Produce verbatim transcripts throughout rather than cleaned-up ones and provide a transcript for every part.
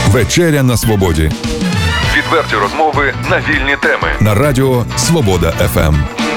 Вечеря на свободі. Відверті розмови на вільні теми. На радіо Свобода еф ем.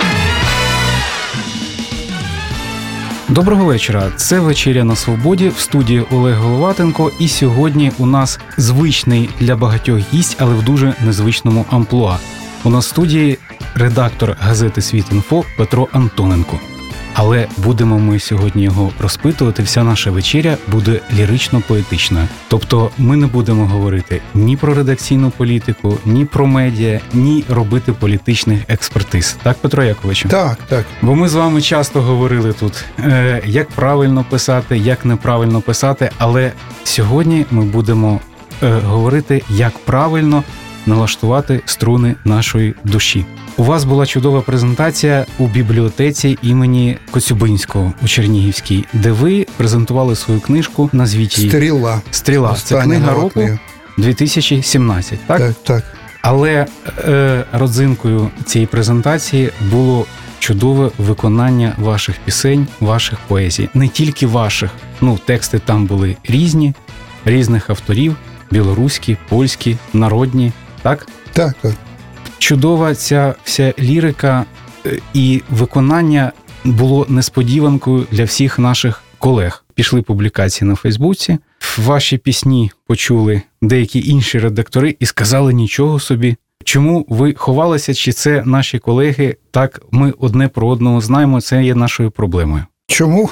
Доброго вечора. Це «Вечеря на свободі», в студії Олег Головатенко. І сьогодні у нас звичний для багатьох гість, але в дуже незвичному амплуа. У нас в студії редактор газети «Світ.Інфо» Петро Антоненко. Але будемо ми сьогодні його розпитувати. Вся наша вечеря буде лірично-поетичною. Тобто ми не будемо говорити ні про редакційну політику, ні про медіа, ні робити політичних експертиз. Так, Петро Яковичу? Так, так. Бо ми з вами часто говорили тут, е, як правильно писати, як неправильно писати, але сьогодні ми будемо е, говорити, як правильно налаштувати струни нашої душі. У вас була чудова презентація у бібліотеці імені Коцюбинського у Чернігівській, де ви презентували свою книжку, назвіть її «Стріла». «Стріла». Це книга року дві тисячі сімнадцять, так? Так, так. Але е, родзинкою цієї презентації було чудове виконання ваших пісень, ваших поезій. Не тільки ваших. Ну, тексти там були різні, різних авторів, білоруські, польські, народні, так? Так, так. Чудова ця вся лірика і виконання було несподіванкою для всіх наших колег. Пішли публікації на Фейсбуці, ваші пісні почули деякі інші редактори і сказали нічого собі. Чому ви ховалися, чи це наші колеги? Так, ми одне про одного знаємо, це є нашою проблемою. Чому?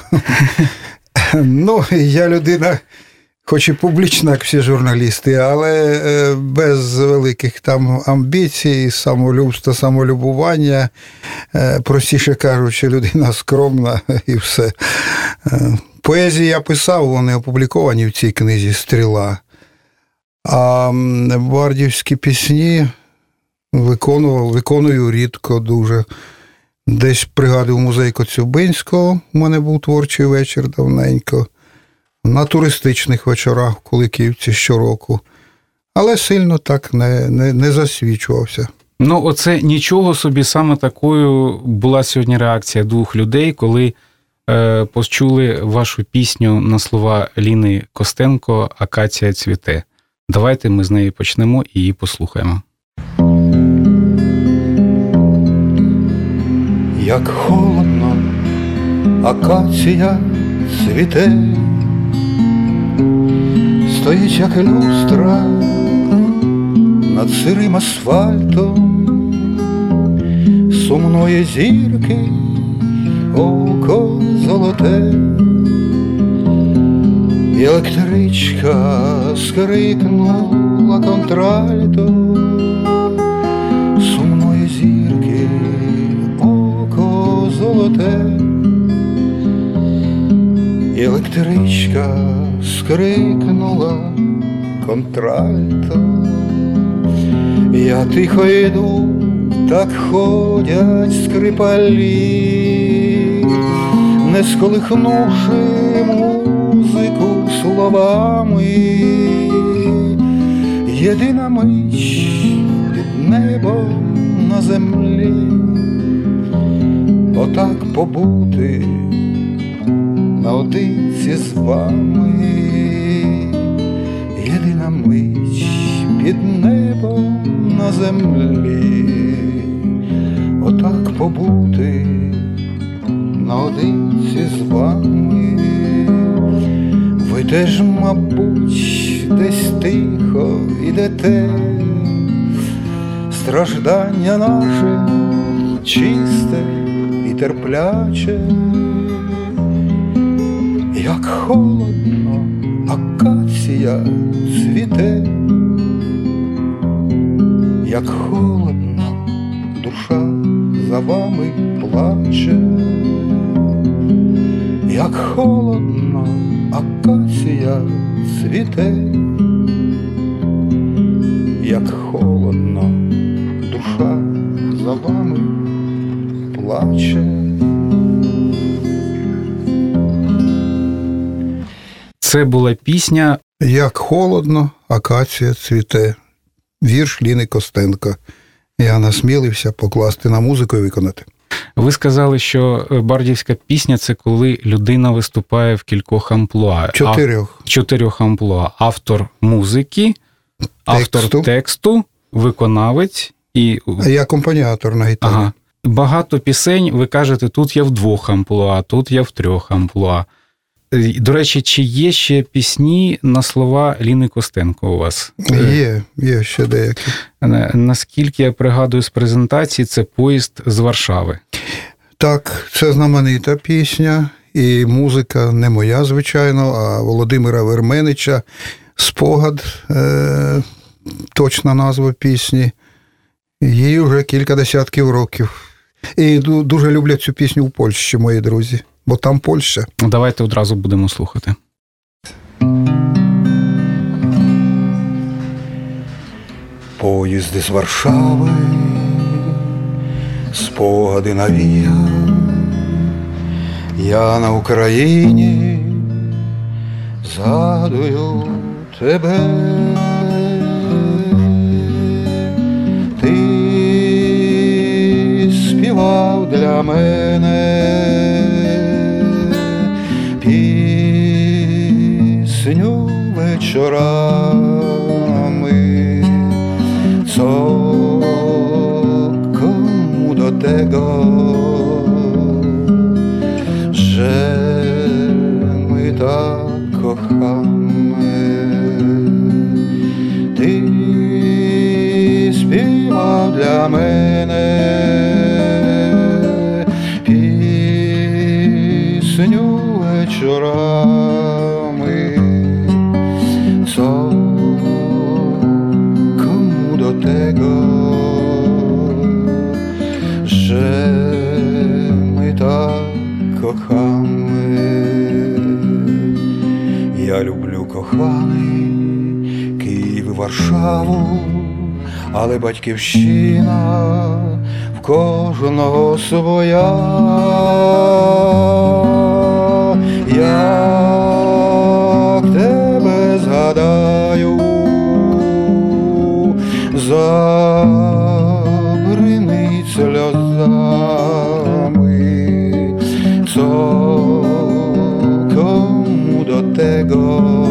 Ну, я людина, хоч і публічна, як всі журналісти, але без великих там амбіцій, самолюбства, самолюбування. Простіше кажучи, людина скромна і все. Поезії я писав, вони опубліковані в цій книзі «Стріла». А бардівські пісні виконував, виконую рідко дуже. Десь пригадую музей Коцюбинського, у мене був творчий вечір давненько. На туристичних вечорах в Куликівці щороку. Але сильно так не, не, не засвічувався. Ну, оце нічого собі, саме такою була сьогодні реакція двох людей, коли е, почули вашу пісню на слова Ліни Костенко «Акація цвіте». Давайте ми з неї почнемо і її послухаємо. Як холодно, акація цвіте, стоїть, як люстра, над сирим асфальтом сумної зірки око золоте. І електричка скрикнула контральто сумної зірки око золоте. І електричка скрикнула контральто. Я тихо йду, так ходять скрипалі, не сколихнувши музику словами. Єдина мить під небом на землі, отак побути наодинці з вами. Єдина мить під небом на землі, отак побути наодинці з вами. Ви теж, мабуть, десь тихо ідете, страждання наше чисте і терпляче. Як холодно, акація цвіте, як холодно, душа за вами плаче. Як холодно, акація цвіте, як холодно, душа за вами плаче. Це була пісня «Як холодно, акація цвіте». Вірш Ліни Костенко. Я насмілився покласти на музику і виконати. Ви сказали, що бардівська пісня – це коли людина виступає в кількох амплуа. Чотирьох. А, чотирьох амплуа. Автор музики, Автор тексту, тексту виконавець і... і акомпаніатор на гітарі. Ага. Багато пісень, ви кажете, тут я в двох амплуа, тут я в трьох амплуа. До речі, чи є ще пісні на слова Ліни Костенко у вас? Є, є ще деякі. Наскільки я пригадую з презентації, це «Поїзд з Варшави». Так, це знаменита пісня, і музика не моя, звичайно, а Володимира Верменича. «Спогад», е, точна назва пісні. Їй вже кілька десятків років. І дуже люблять цю пісню в Польщі, мої друзі, бо там Польща. Давайте одразу будемо слухати. Поїзд із Варшави, спогади навіяв, я на Україні згадую тебе. Ти співав для мене пісню вечорами, co komu do tego, że my tak kochamy. Ty śpiewał dla mnie pieśnię wieczorami, co komu do tego, że my tak kochamy. Ja люблю, коханий, Київ і Варшаву, але батьківщина в кожного своя. Як тебе згадаю, забринить сльозами, co komu do tego,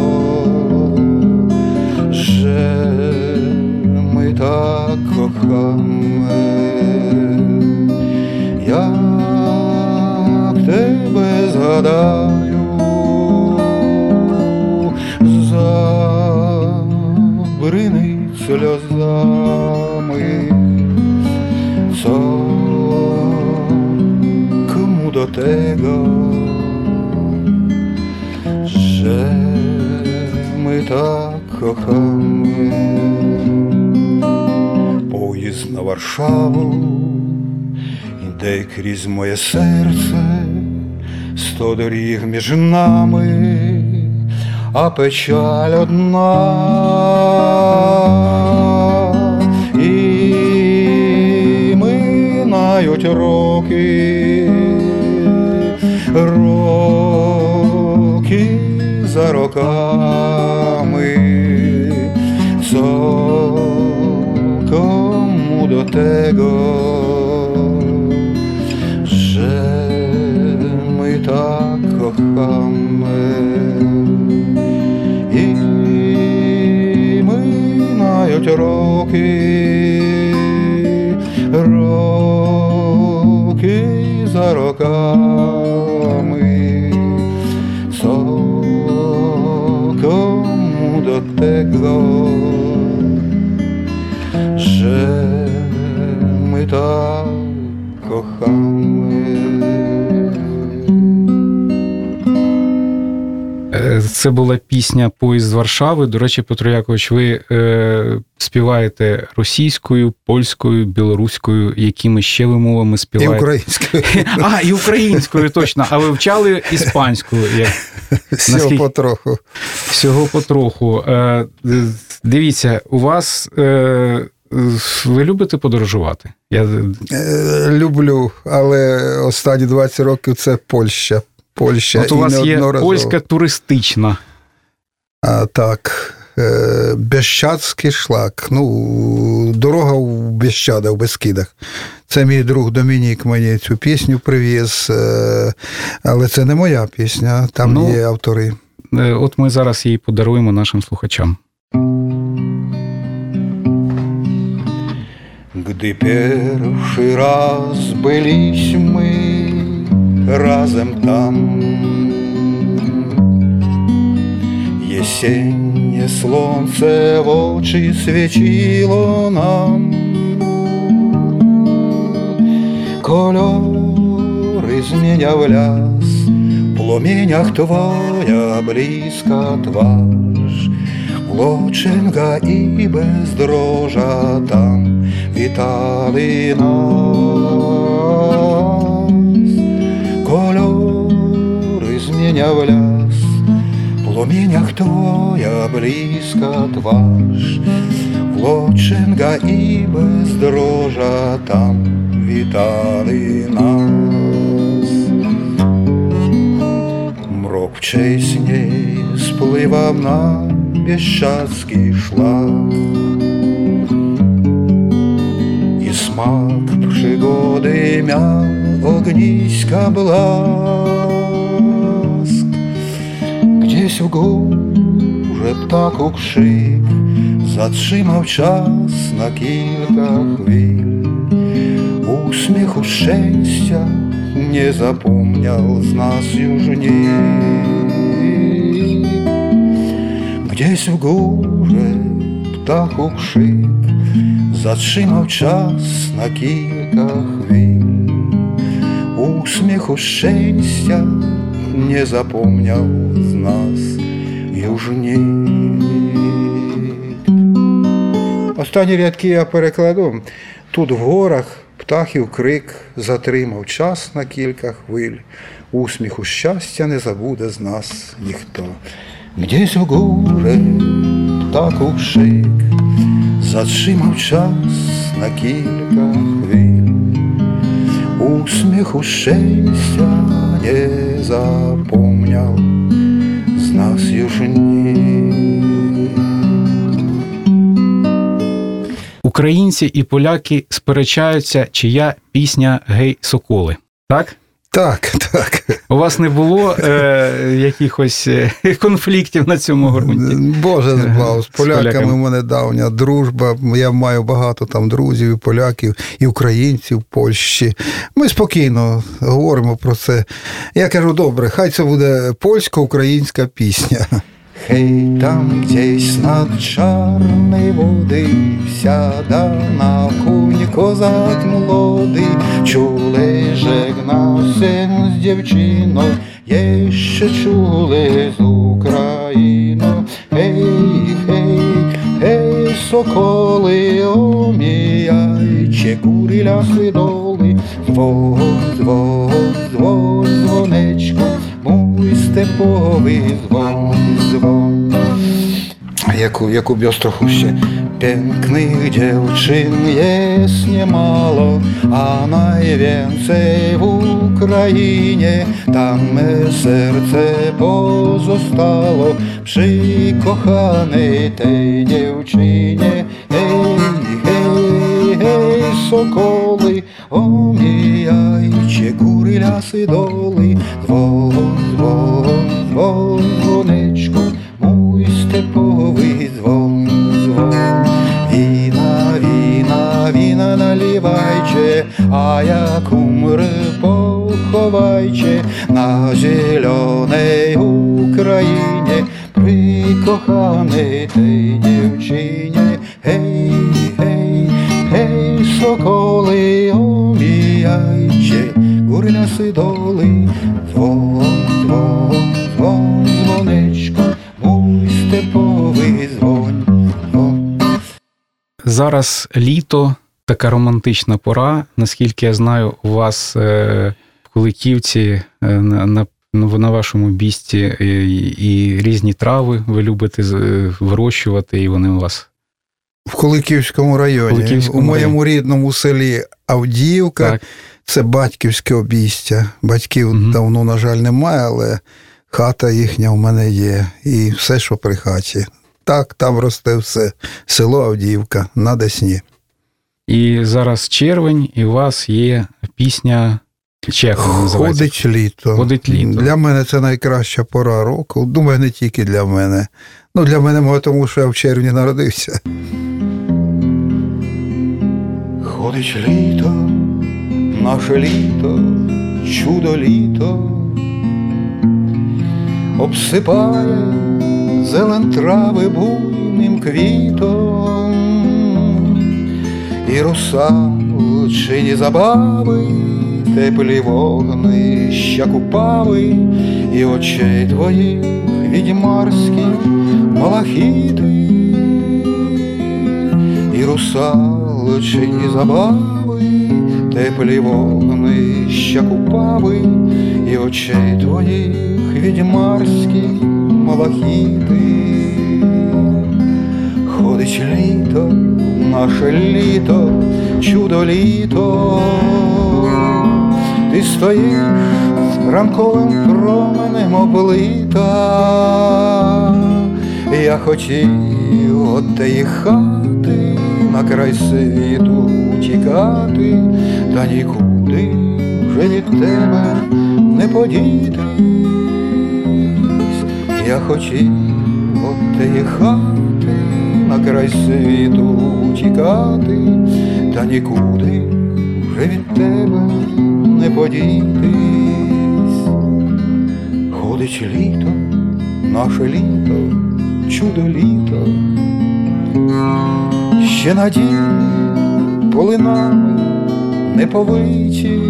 że my tak kochamy. Jak тебе згадаю, забринить сльозами, co komu do tego, że my tak kochamy. Поїзд на Варшаву іде крізь моє серце, сто доріг між нами, а печаль одна. І минають роки, роки за роками, co komu do tego, że my tak kochamy. I минають роки, роки за роками, co komu do tego, że my tak kochamy. Це була пісня «Поїзд з Варшави». До речі, Петро Якович, ви е, співаєте російською, польською, білоруською, якими ще ви мовами співаєте? І українською. А, і українською, точно. А ви вчали іспанську? Як... Всього Наскільки... потроху. Всього потроху. Е, дивіться, у вас... Е, ви любите подорожувати? Я... Е, люблю, але останні двадцять років це Польща. Польща. От у вас є польська туристична. А, так. Е, Бєщадський шлак. Ну, дорога в Бєщада, в Бескидах. Це мій друг Домінік мені цю пісню привіз. Е, але це не моя пісня, там ну, є автори. От ми зараз її подаруємо нашим слухачам. Gdy pierwszy raz byliśmy razem tam, jesiennie słońce w oczy świeciło nam, kolory zmieniał las, w płomieniach twoja bliska twarz, Włóczęga i Bezdroża tam witali nas. Kolory zmieniał las, w płomieniach twoja bliska twarz, Włóczęga i Bezdroża tam witali nas. Mrok wcześniej spływał na bieszczadzki szlak i smak przygody miał ogniska blask. Gdzieś w górze ptaku krzyk zatrzymał czas na kilka chwil. Uśmiechu szczęścia nie zapomniał z nas już nikt. Gdzieś w górze ptaku krzyk zatrzymał czas na kilka chwil. Uśmiechu szczęścia nie zapomniał z nas już nikt. Останні рядки я перекладу. Тут в горах птахів крик затримав час на кілька хвиль. Усміху щастя не забуде з нас ніхто. Gdzieś w górze ptaków krzyk zatrzymał czas na kilka chwil. Uśmiechu szczęścia nie zapomniał z nas już nikt. Українці і поляки сперечаються, чия пісня «Гей, соколи». Так? Так, так. У вас не було е, якихось конфліктів на цьому ґрунті? Боже збав, з поляками, з поляками в мене давня дружба. Я маю багато там друзів, і поляків, і українців в Польщі. Ми спокійно говоримо про це. Я кажу, добре, хай це буде польсько-українська пісня. Hej, tam gdzieś nad czarnej wody wsiada na kuń kozak młody. Czule żegna się z dziewczyną, jeszcze czule z Ukrainą. Hej, hej, hej, sokoły, omijajcie góry, lasy, doły. Dzwon, dzwon, dzwon, dzwoneczku, mój stepowy dzwon, dzwon. Jak u, jak u Biostrochuście pięknych dziewczyn jest niemało, a najwięcej w Ukrainie. Tam me serce pozostało przy kochanej tej dziewczynie. Hej, hej, hej, sokoły, omijajcie góry, lasy, doły. Dzwon, dzwon, dzwon, dzwoneczku, mój stepowy dzwon, dzwon. Wina, wina, wina naливajcie, a jak umrę pochowajcie na zielonej Ukrainie przy kochanej tej dziewczynie. Hej, hej, hej, sokoły, omijajcie góry, lasy, doły. Dzwon, dzwon, dzwon, dzwoneczku, mój stepowy dzwon, dzwon. Зараз літо, така романтична пора. Наскільки я знаю, у вас е, в Куликівці е, на, на, на вашому бісті і, і різні трави ви любите е, вирощувати, і вони у вас... В Куликівському районі, Куликівському у моєму районі. рідному селі Авдіївка. Так. Це батьківське обійстя. Батьків угу. давно, на жаль, немає, але хата їхня в мене є. І все, що при хаті. Так, там росте все. Село Авдіївка на Десні. І зараз червень, і у вас є пісня Чехова називається. Ходить літо. Ходить літо. Для мене це найкраща пора року. Думаю, не тільки для мене. Ну, для мене, може, тому що я в червні народився. Ходить літо, наше літо, чудо літо, обсипає зелен трави буйним квітом, і русалчині забави, теплі вогнища купави, і очей твоїх відьмарські малахіти, і русалчині забави, теплі вогнища купави, і очей твоїх відьмарські малахіти. Ходить літо, наше літо, чудо літо, ти стоїш ранковим променем облита. Я хотів от теї хати на край світу тікати, та нікуди вже від тебе не подітись. Я хотів от теї хати на край світу тікати, та нікуди вже від тебе не подітись. Ходить літо, наше літо, чудо літо, ще надії полинами не повиті,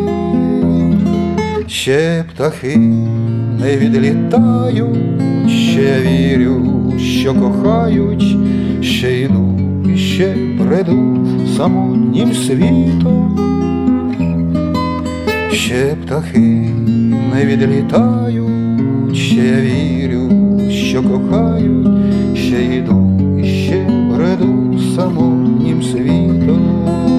ще птахи не відлітають, ще вірю, що кохають, ще йду і ще бреду самотнім світом, ще птахи не відлітають, ще вірю, що кохають, ще йду і ще бреду самотнім світом.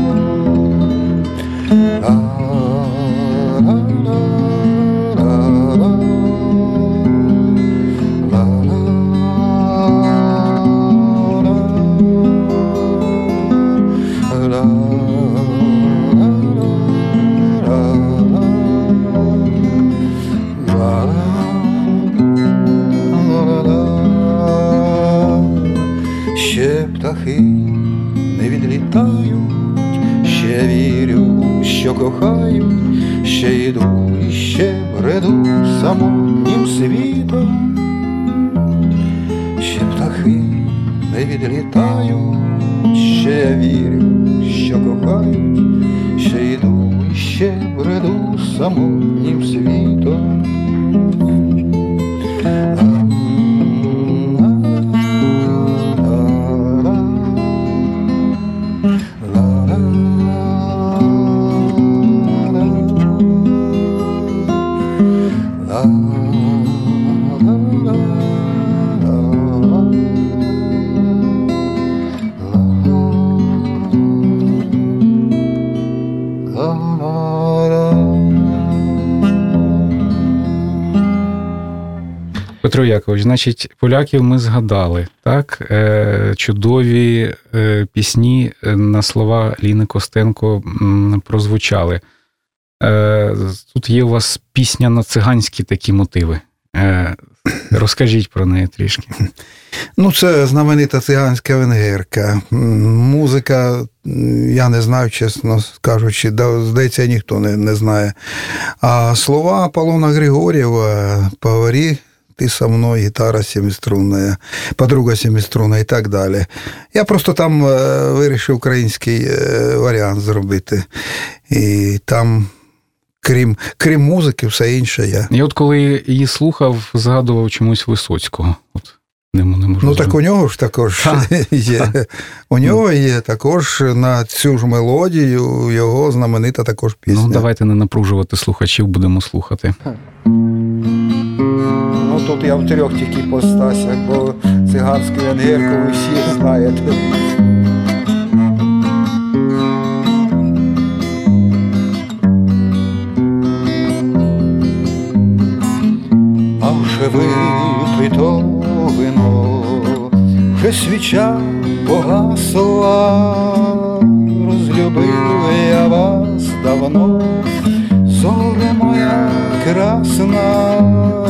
Ще птахи не відлітають, ще вірю, що кохають, ще йду і ще бреду самотнім світом. Ще птахи не відлітають, ще вірю, що кохають, ще йду і ще бреду самотнім світом. Петро Якович, значить, поляків ми згадали, так? Е, чудові е, пісні на слова Ліни Костенко м, прозвучали. Е, тут є у вас пісня на циганські такі мотиви. Е, розкажіть про неї трішки. Ну, це знаменита циганська венгерка. Музика, я не знаю, чесно кажучи, здається, ніхто не, не знає. А слова Аполлона Григорьєва, «Поговори ты со мной», гітара семиструнная, подруга семиструнна і так далі. Я просто там вирішив український варіант зробити. І там, крім, крім музики, все інше я. Я от коли її слухав, згадував чомусь Висоцького. От. Не, не можу ну, зробити. так у нього ж також а, є. А. У нього є також на цю ж мелодію його знаменита також пісня. Ну, давайте не напружувати слухачів, будемо слухати. Ну, тут я в трьох тільки постасях, бо циганську венгерку ви всі знаєте. А вже випито вино, вже свіча погасла, розлюбив я вас давно, зоре моя красна,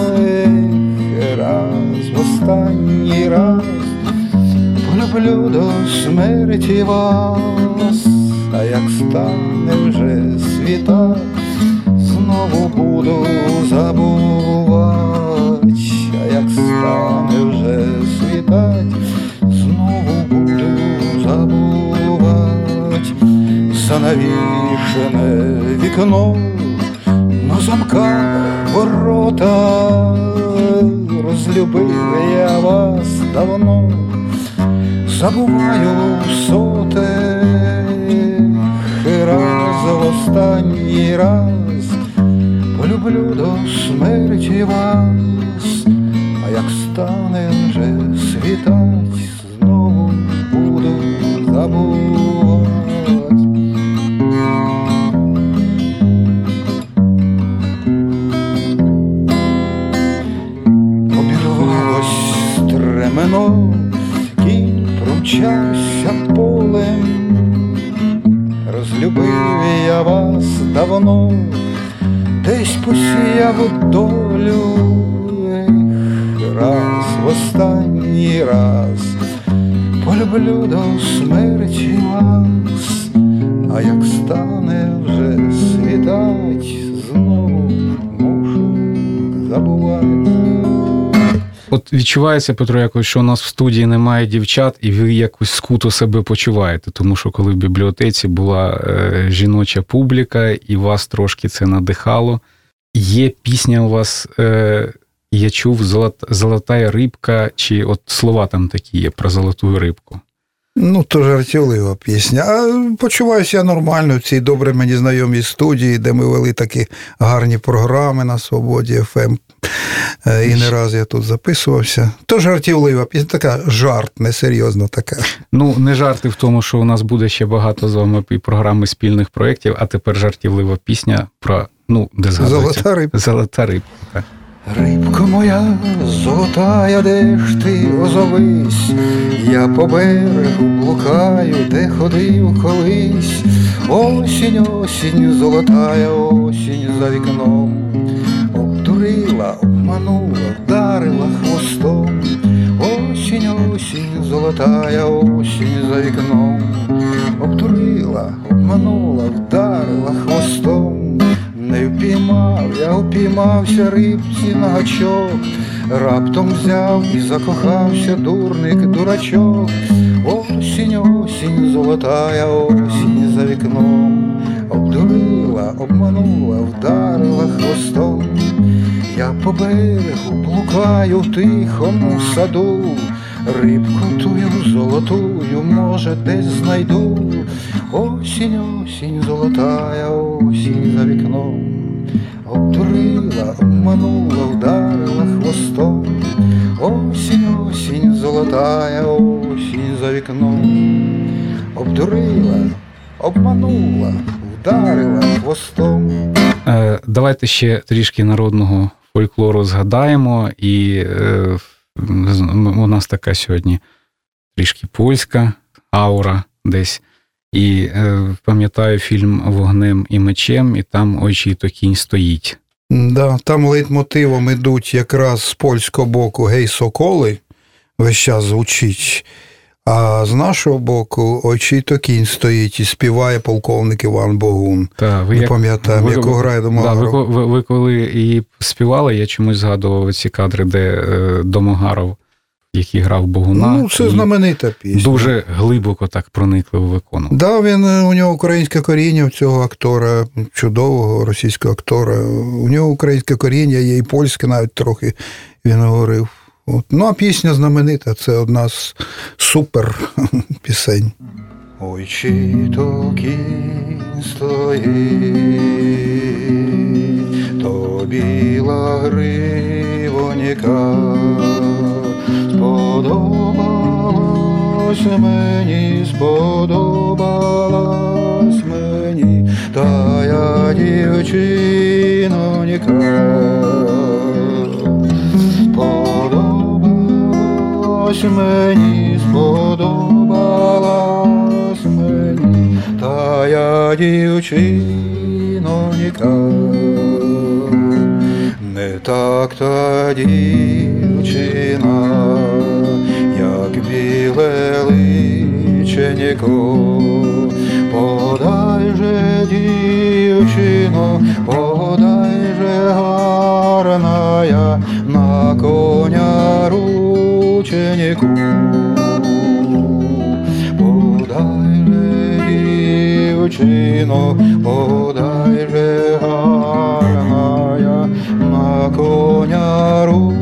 раз в останній раз полюблю до смерті вас. а як стане вже світать, знову буду забувати, а як стане вже світать, знову буду забувати. Занавішене вікно, на замках ворота, розлюбив я вас давно, забуваю сотих раз, в останній раз полюблю до смерті вас, а як стане вже світать, знову буду забувати. Обірвалось стремено, кінь промчався полем, розлюбив я вас давно, десь посіяв долю, раз, в останній раз полюблю до смерті вас, а як стане вже світать, знову мушу забувати. От відчувається, Петро Якович, що у нас в студії немає дівчат, і ви якось скуто себе почуваєте, тому що коли в бібліотеці була е, жіноча публіка, і вас трошки це надихало. Є пісня у вас, е, я чув, «Золотая рибка», чи от слова там такі є про золоту рибку? Ну, то жартівлива пісня. А почуваюся я нормально в цій добре мені знайомій студії, де ми вели такі гарні програми на Свободі еф ем. І не раз я тут записувався. То жартівлива пісня, така жарт, несерйозна така. Ну, не жарти в тому, що у нас буде ще багато з вами і програми спільних проєктів, а тепер жартівлива пісня про, ну, де згадується? Золота рибка. Золота рибка, так. Рибко моя золотая, де ж ти озовись, я по берегу блукаю, де ходив колись. Осінь, осінь, золотая осінь за вікном, обдурила, обманула, вдарила хвостом. Осінь, осінь, золотая осінь за вікном, обдурила, обманула, вдарила хвостом. Не впіймав, я впіймався рибці на гачок, раптом взяв і закохався дурник, дурачок. Осінь, осінь, золотая осінь за вікном, обдурила, обманула, вдарила хвостом. Я по берегу блукаю в тихому саду, рибку тую золотую, може, десь знайду. Осінь, осінь, золотая осінь за вікном, обдурила, обманула, вдарила хвостом. Осінь, осінь, золотая осінь за вікном, обдурила, обманула, вдарила хвостом. Е, давайте ще трішки народного фольклору згадаємо, і е, у нас така сьогодні трішки польська аура десь. І е, пам'ятаю фільм «Вогнем і мечем», і там «Ой, чий то кінь стоїть». Да, там лейтмотивом ідуть якраз з польського боку «Гей, соколи», весь час звучить, а з нашого боку «Ой, чий то кінь стоїть» і співає полковник Іван Богун. Та, ви не як, пам'ятаємо, яку грає Домогаров. Да, ви, ви, ви коли її співали, я чомусь згадував ці кадри, де е, Домогаров, який грав Богуна. Ну, це знаменита пісня. Дуже глибоко так проникливо виконував. Да, він, у нього українське коріння, в цього актора, чудового російського актора. У нього українське коріння, є і польське навіть трохи, він говорив. От. Ну, а пісня знаменита, це одна з супер пісень. Ой, чи то кінь стоїть, то біла гривоніка, сподобалась мені, сподобалась мені, та я дівчиноніка. Сподобалась мені, сподобалась мені, та я дівчиноніка. Не так та дівчина, як біле личенько, Подай же, дівчино, подай же гарная, на коня рученику. Подай же, дівчино, подай же гарная, на коня рученику.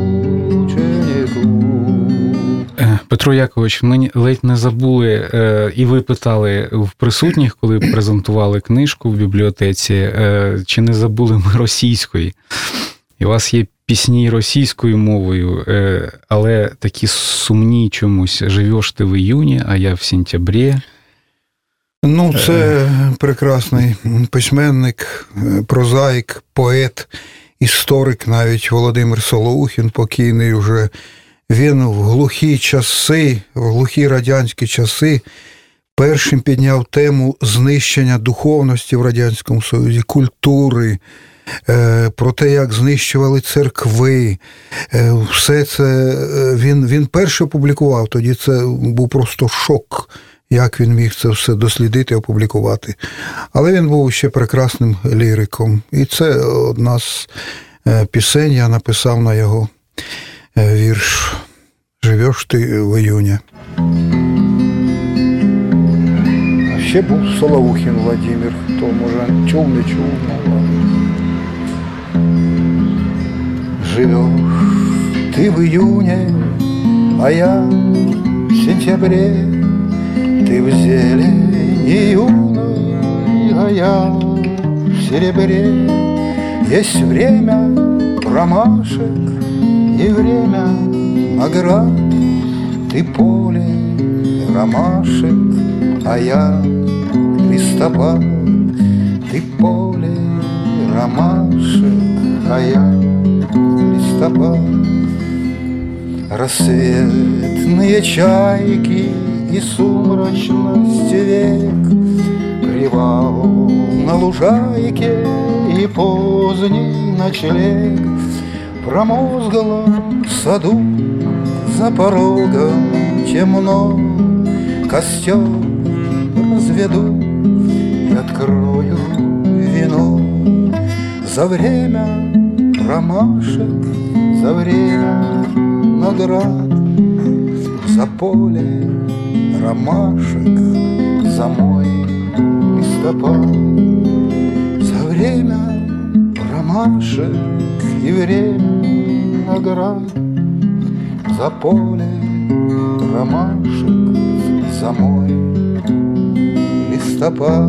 Петро Якович, ми ледь не забули, і ви питали в присутніх, коли презентували книжку в бібліотеці, чи не забули ми російської. І у вас є пісні російською мовою, але такі сумні чомусь. «Живеш ти в июне, а я в сентябрі». Ну, це прекрасний письменник, прозаїк, поет, історик навіть Володимир Солоухін, покійний вже. Він в глухі часи, в глухі радянські часи першим підняв тему знищення духовності в Радянському Союзі, культури, про те, як знищували церкви. Все це він, він перше опублікував, тоді це був просто шок, як він міг це все дослідити, опублікувати. Але він був ще прекрасним ліриком. І це одна з пісень, я написав на його вірш «Живеш ти в июне». А ще був Солоухін Владимир, хто, може, чув, не чув. Живеш ти в июне, а я в сентябре. Ты в зелени юной, а я в серебре. Есть время промашек и время наград. Ты поле ромашек, а я листопад. Ты поле ромашек, а я листопад. Рассветные чайки и сумрачность век, привал на лужайке и поздний ночлег. В промозглом саду за порогом темно, костер разведу и открою вино. За время ромашек, за время наград, за поле ромашек, за мой листопад. За время ромашек и время наград, за поле ромашек, за мой листопад.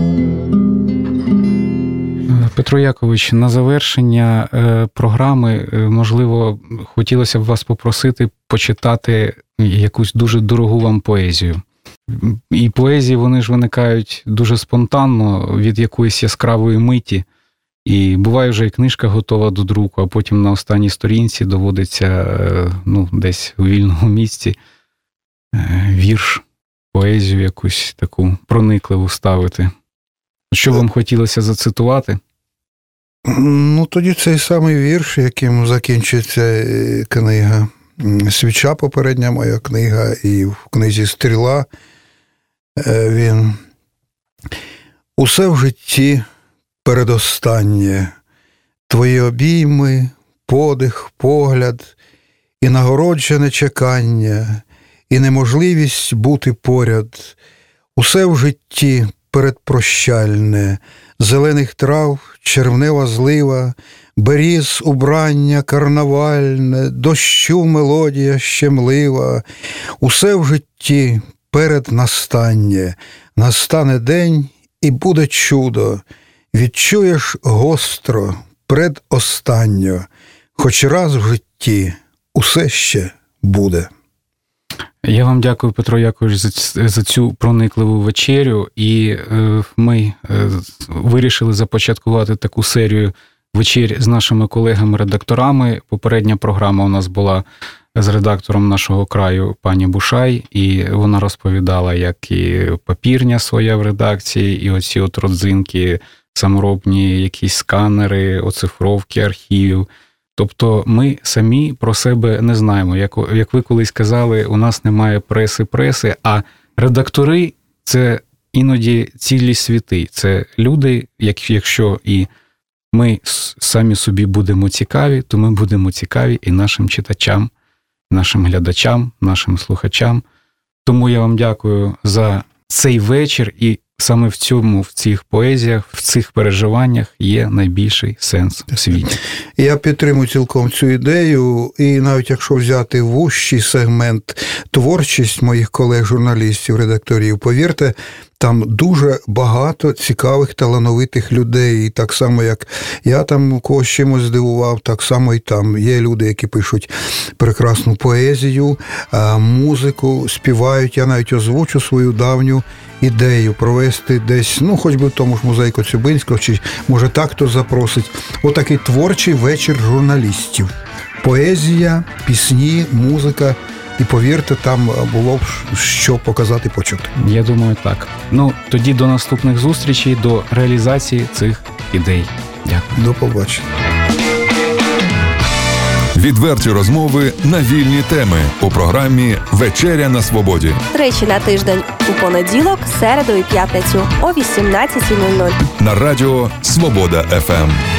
Петро Якович, на завершення програми, можливо, хотілося б вас попросити почитати якусь дуже дорогу вам поезію. І поезії, вони ж виникають дуже спонтанно від якоїсь яскравої миті. І буває вже і книжка готова до друку, а потім на останній сторінці доводиться, ну, десь у вільному місці вірш, поезію якусь таку проникливу ставити. Що вам хотілося зацитувати? Ну, тоді цей самий вірш, яким закінчується книга. «Свіча» попередня моя книга, і в книзі «Стріла» він. Усе в житті передостаннє, твої обійми, подих, погляд, і нагороджене чекання, і неможливість бути поряд. Усе в житті передпрощальне, зелених трав, червнева злива, беріз убрання карнавальне, дощу мелодія щемлива. Усе в житті переднастання, настане день і буде чудо, відчуєш гостро, предостанньо, хоч раз в житті усе ще буде. Я вам дякую, Петро Якович, за, за цю проникливу вечерю, і е, ми е, вирішили започаткувати таку серію вечер з нашими колегами-редакторами. Попередня програма у нас була з редактором «Нашого краю» пані Бушай, і вона розповідала, як і папірня своя в редакції, і оці от родзинки, саморобні якісь сканери, оцифровки архівів. Тобто ми самі про себе не знаємо. Як, як ви колись казали, у нас немає преси-преси, а редактори – це іноді цілі світи. Це люди, як, якщо і ми самі собі будемо цікаві, то ми будемо цікаві і нашим читачам, нашим глядачам, нашим слухачам. Тому я вам дякую за цей вечір, і саме в цьому, в цих поезіях, в цих переживаннях є найбільший сенс у світі. Я підтримую цілком цю ідею, і навіть якщо взяти вужчий сегмент творчість моїх колег-журналістів, редакторів, повірте, там дуже багато цікавих, талановитих людей. І так само, як я там когось чимось здивував, так само і там є люди, які пишуть прекрасну поезію, музику, співають. Я навіть озвучу свою давню ідею провести десь, ну, хоч би в тому ж музеї Коцюбинського, чи, може, так хто запросить, отакий творчий вечір журналістів. Поезія, пісні, музика. І повірте, там було б що показати, почути. Я думаю, так. Ну, тоді до наступних зустрічей, до реалізації цих ідей. Дякую. До побачення. Відверті розмови на вільні теми у програмі «Вечеря на свободі». Тричі на тиждень у понеділок, середу і п'ятницю о вісімнадцятій нуль нуль. На радіо «Свобода еф ем».